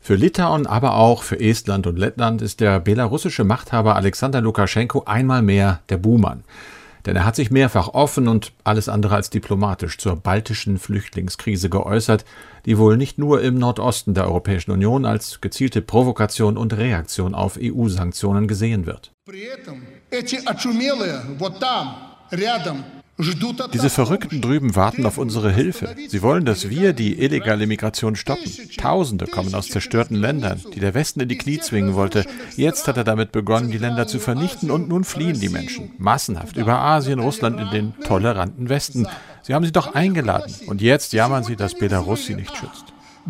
Für Litauen, aber auch für Estland und Lettland ist der belarussische Machthaber Alexander Lukaschenko einmal mehr der Buhmann. Denn er hat sich mehrfach offen und alles andere als diplomatisch zur baltischen Flüchtlingskrise geäußert, die wohl nicht nur im Nordosten der Europäischen Union als gezielte Provokation und Reaktion auf EU-Sanktionen gesehen wird. Diese Verrückten drüben warten auf unsere Hilfe. Sie wollen, dass wir die illegale Migration stoppen. Tausende kommen aus zerstörten Ländern, die der Westen in die Knie zwingen wollte. Jetzt hat er damit begonnen, die Länder zu vernichten und nun fliehen die Menschen. Massenhaft über Asien, Russland in den toleranten Westen. Sie haben sie doch eingeladen. Und jetzt jammern sie, dass Belarus sie nicht schützt.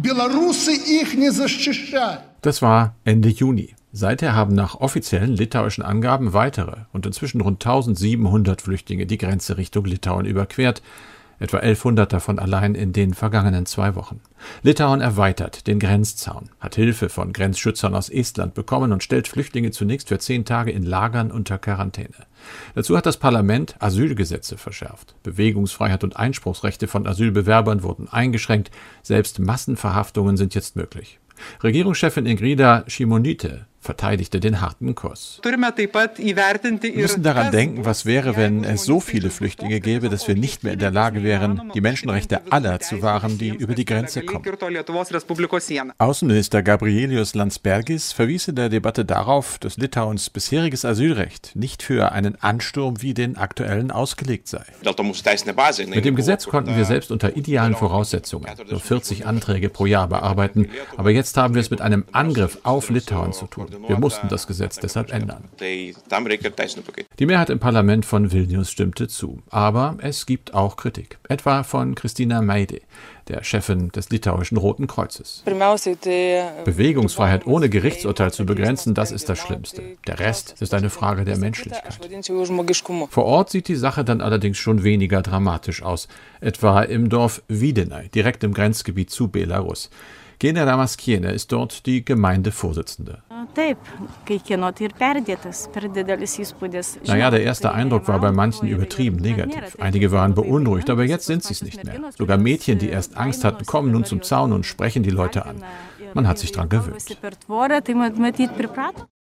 Das war Ende Juni. Seither haben nach offiziellen litauischen Angaben weitere und inzwischen rund 1700 Flüchtlinge die Grenze Richtung Litauen überquert, etwa 1100 davon allein in den vergangenen 2 Wochen. Litauen erweitert den Grenzzaun, hat Hilfe von Grenzschützern aus Estland bekommen und stellt Flüchtlinge zunächst für 10 Tage in Lagern unter Quarantäne. Dazu hat das Parlament Asylgesetze verschärft. Bewegungsfreiheit und Einspruchsrechte von Asylbewerbern wurden eingeschränkt, selbst Massenverhaftungen sind jetzt möglich. Regierungschefin Ingrida Šimonytė verteidigte den harten Kurs. Wir müssen daran denken, was wäre, wenn es so viele Flüchtlinge gäbe, dass wir nicht mehr in der Lage wären, die Menschenrechte aller zu wahren, die über die Grenze kommen. Außenminister Gabrielius Landsbergis verwies in der Debatte darauf, dass Litauens bisheriges Asylrecht nicht für einen Ansturm wie den aktuellen ausgelegt sei. Mit dem Gesetz konnten wir selbst unter idealen Voraussetzungen nur 40 Anträge pro Jahr bearbeiten, aber jetzt haben wir es mit einem Angriff auf Litauen zu tun. Wir mussten das Gesetz deshalb ändern. Die Mehrheit im Parlament von Vilnius stimmte zu. Aber es gibt auch Kritik. Etwa von Kristina Meidė, der Chefin des litauischen Roten Kreuzes. Bewegungsfreiheit ohne Gerichtsurteil zu begrenzen, das ist das Schlimmste. Der Rest ist eine Frage der Menschlichkeit. Vor Ort sieht die Sache dann allerdings schon weniger dramatisch aus. Etwa im Dorf Wiedenai, direkt im Grenzgebiet zu Belarus. Gena Damaskiene ist dort die Gemeindevorsitzende. Naja, der erste Eindruck war bei manchen übertrieben negativ. Einige waren beunruhigt, aber jetzt sind sie es nicht mehr. Sogar Mädchen, die erst Angst hatten, kommen nun zum Zaun und sprechen die Leute an. Man hat sich dran gewöhnt.